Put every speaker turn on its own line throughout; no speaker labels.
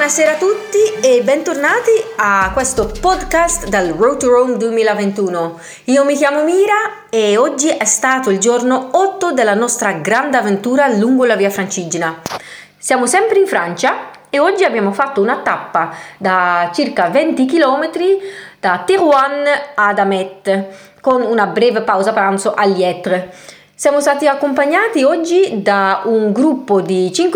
Buonasera a tutti e bentornati a questo podcast dal Road to Rome 2021. Io mi chiamo Mira e oggi è stato il giorno 8 della nostra grande avventura lungo la Via Francigena. Siamo sempre in Francia e oggi abbiamo fatto una tappa da circa 20 km da Terouanne ad Amet con una breve pausa pranzo a Liètre. Siamo stati accompagnati oggi da un gruppo di 5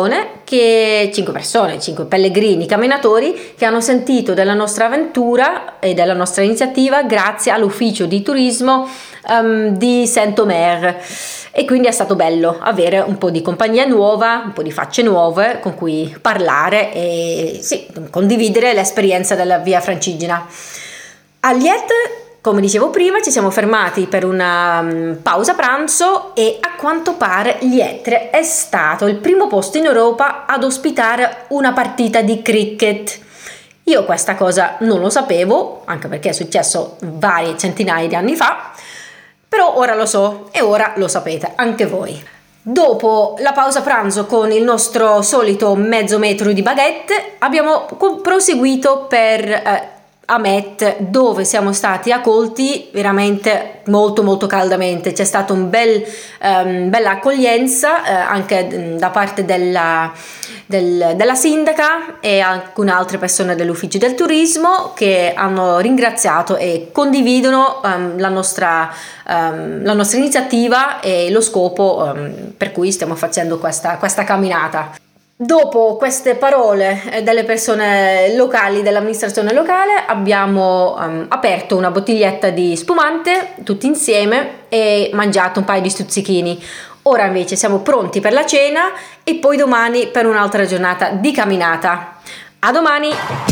pellegrini camminatori che hanno sentito della nostra avventura e della nostra iniziativa grazie all'ufficio di turismo di Saint-Omer, e quindi è stato bello avere un po' di compagnia nuova, un po' di facce nuove con cui parlare e condividere l'esperienza della Via Francigena. A Liètre, come dicevo prima, ci siamo fermati per una pausa pranzo e a quanto pare Liètre è stato il primo posto in Europa ad ospitare una partita di cricket. Io questa cosa non lo sapevo, anche perché è successo varie centinaia di anni fa, però ora lo so e ora lo sapete anche voi. Dopo la pausa pranzo con il nostro solito mezzo metro di baguette abbiamo proseguito per Amet, dove siamo stati accolti veramente molto caldamente. C'è stata bella accoglienza anche da parte della sindaca e alcune altre persone dell'ufficio del turismo che hanno ringraziato e condividono la nostra iniziativa e lo scopo per cui stiamo facendo questa camminata. Dopo queste parole delle persone locali, dell'amministrazione locale, abbiamo aperto una bottiglietta di spumante tutti insieme e mangiato un paio di stuzzichini. Ora invece siamo pronti per la cena e poi domani per un'altra giornata di camminata. A domani!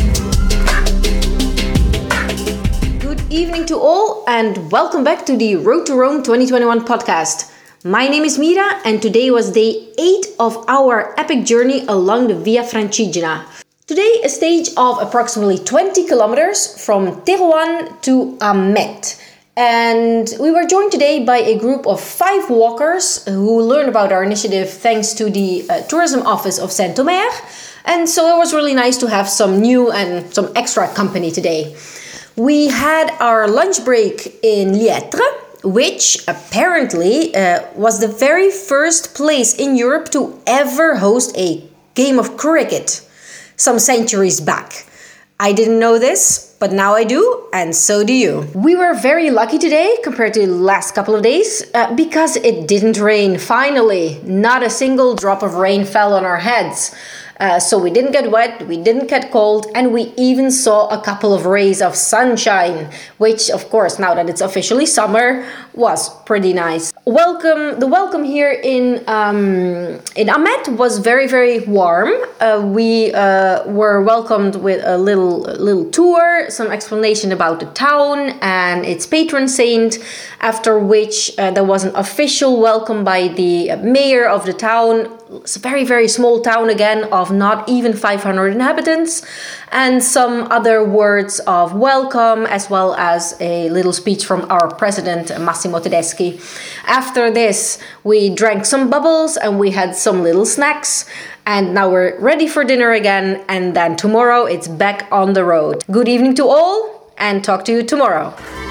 Good evening to all and welcome back to the Road to Rome 2021 podcast. My name is Mira and today was day 8 of our epic journey along the Via Francigena. Today a stage of approximately 20 kilometers from Terouanne to Amet. And we were joined today by a group of 5 walkers who learned about our initiative thanks to the tourism office of Saint-Omer. And so it was really nice to have some new and some extra company today. We had our lunch break in Liètre, which apparently was the very first place in Europe to ever host a game of cricket some centuries back. I didn't know this, but now I do, and so do you. We were very lucky today compared to the last couple of days because it didn't rain, finally. Not a single drop of rain fell on our heads. So we didn't get wet, we didn't get cold, and we even saw a couple of rays of sunshine, which, of course, now that it's officially summer, was pretty nice. The welcome here in Amet was very warm. We were welcomed with a little tour, some explanation about the town and its patron saint, after which there was an official welcome by the mayor of the town. It's a very small town again of not even 500 inhabitants, and some other words of welcome, as well as a little speech from our president Massimo Tedeschi. After this we drank some bubbles and we had some little snacks, and now we're ready for dinner again, and then tomorrow it's back on the road. Good evening to all and talk to you tomorrow.